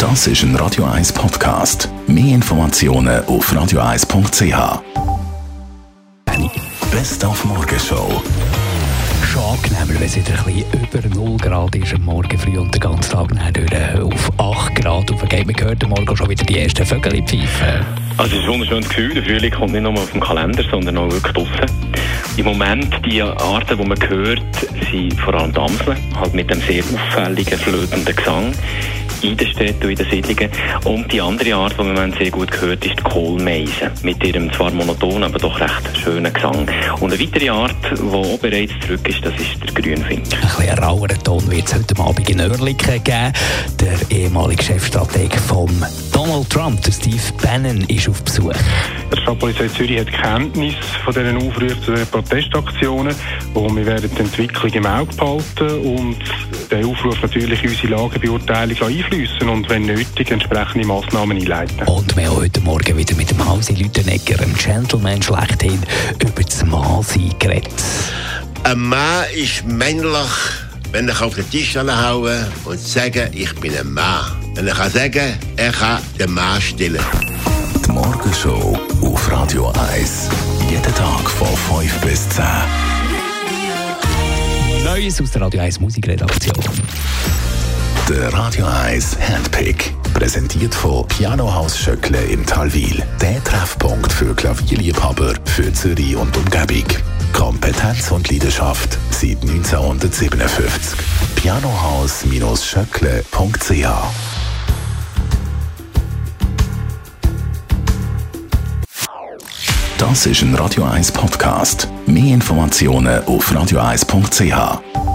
Das ist ein Radio 1 Podcast. Mehr Informationen auf radio1.ch. Best auf Morgenshow. Schon angenehmer, wenn es wieder ein bisschen über 0 Grad ist am Morgen früh und den ganzen Tag auf 8 Grad aufgeht. Man hört am Morgen schon wieder die ersten Vögel pfeifen. Also es ist ein wunderschönes Gefühl. Der Frühling kommt nicht nur auf dem Kalender, sondern auch wirklich draussen. Im Moment, die Arten, die man hört, sind vor allem die Amseln, halt mit dem sehr auffälligen, flötenden Gesang in den Städten und in den Siedlungen. Und die andere Art, die man im Moment sehr gut hört, ist die Kohlmeise. Mit ihrem zwar monotonen, aber doch recht schönen Gesang. Und eine weitere Art, die auch bereits zurück ist, das ist der Grünfinker. Ein bisschen raueren Ton wird es heute Abend in Oerlikon geben. Der ehemalige Chefstratege von Donald Trump, der Steve Bannon, ist auf Besuch. Die Stadtpolizei Zürich hat Kenntnis von diesen Aufrufen zu den Protestaktionen und wir werden die Entwicklung im Auge behalten und den Aufruf natürlich in unsere Lagebeurteilung einfließen und wenn nötig entsprechende Massnahmen einleiten. Und wir haben heute Morgen wieder mit dem Hausi Lütenegger, einem Gentleman schlechthin, über das Mannsein geredet. Ein Mann ist männlich, wenn ich auf den Tisch hauen und sagen, ich bin ein Mann. Wenn ich sagen, er kann den Mann stillen. Die Morgenshow auf Radio 1. Jeden Tag von 5 bis 10. Neues aus der Radio 1 Musikredaktion. Der Radio 1 Handpick. Präsentiert von Pianohaus Schöckle in Talwil. Der Treffpunkt für Klavierliebhaber für Zürich und Umgebung. Kompetenz und Leidenschaft seit 1957. Pianohaus-schöckle.ch. Das ist ein Radio 1 Podcast. Mehr Informationen auf radio1.ch.